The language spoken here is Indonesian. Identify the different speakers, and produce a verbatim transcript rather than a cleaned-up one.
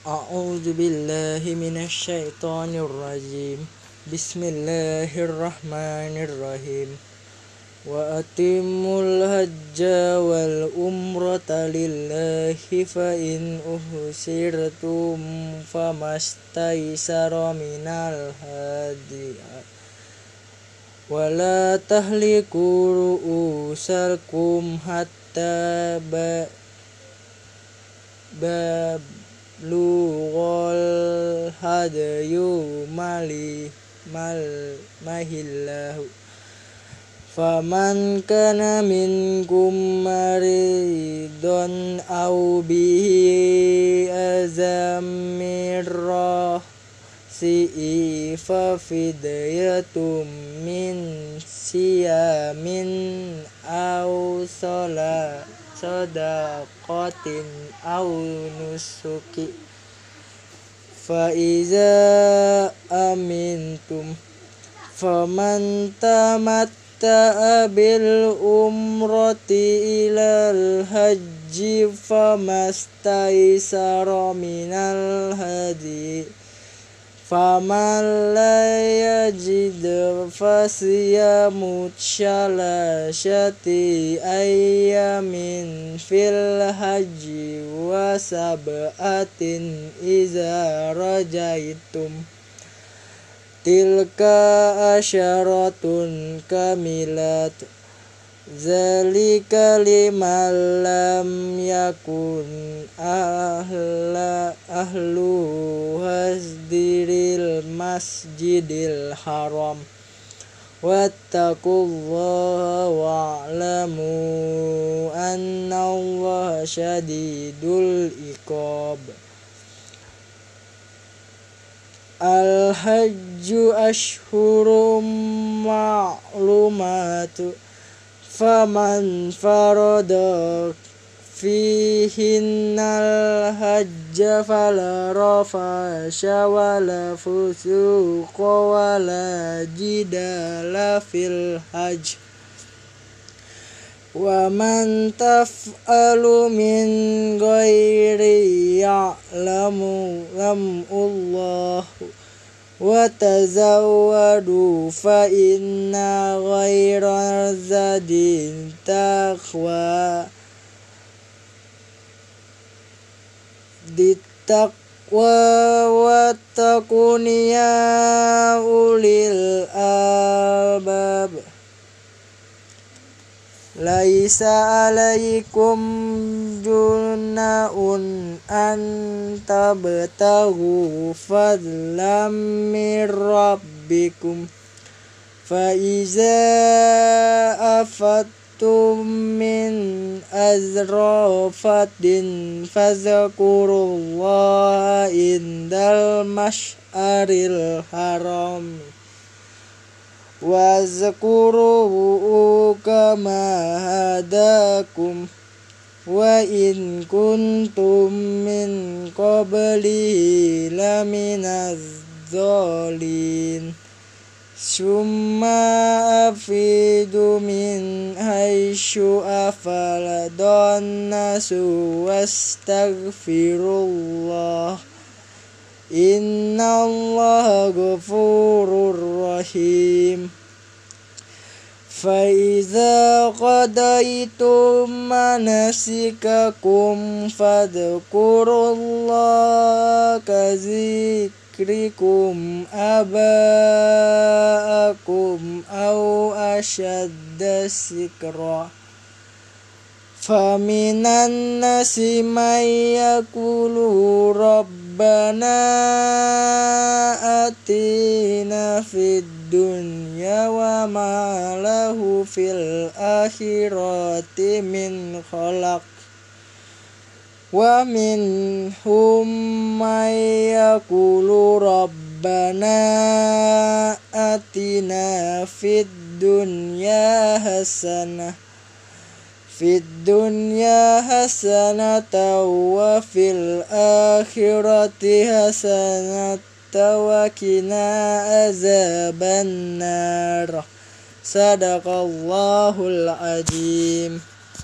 Speaker 1: A'udzu billahi minasyaitonir rajim. Bismillahirrahmanirrahim. Wa atimul hajja wal umrata lillahi fa in uhsirtum famastaysara minal hadi wa la tahliku ru'usakum hatta ba balughal hadayu mali mal mahillahu faman kana minkum maridun aw bihi azam min ra'sihi fa fidyatum min siyamin aw salat sadaqatin aw nusuki fa iza amintum faman tamatta'a bil umrati ilal hajji famastaysara minal hadi faman la yajid fasiyamu salasati ayyamin fil hajji wa sab'atin iza rajaitum tilka asyaratun kamilat zalika liman lam yakun ahla ahlu hasdiril masjidil haram wattaqullaha wa'lamu annallaha syadidul iqab. Al-hajju ashhurum ma'lumatu faman farada fihinnal hajja fala rafasha wala fusuqa wala jidala fil hajj wa man taf'alu min ghairi ya'lamu lamullahu wa tazawwadu fa inna ghaira zadin taqwa dittaqwa wattaquni ya ulil albab. Laisa alaikum junahun an tabtaghu fadlam min rabbikum fa iza afattum min azrafatin fazkurullaha indal masy'aril haram wazkuruhu kama hadakum wa in kuntum min qablihi laminaz zalin summa afidu min haitsu afaladun nasu wastaghfirullah innallaha ghafurur rahim. Fa iza qadaytum manasikakum fadhkurullaha kadzikrikum aba'akum aw ashadda zikra faminan nasi may yaqulu rabbana atina fid dunya wa ma lahu fil akhirati min khalaq wa minhum may yaqulu rabbana atina fid dunya hasanah fid dunya hasanatan wa fil akhirati hasanatan wa qina azabannar. Sadaqallahul azim.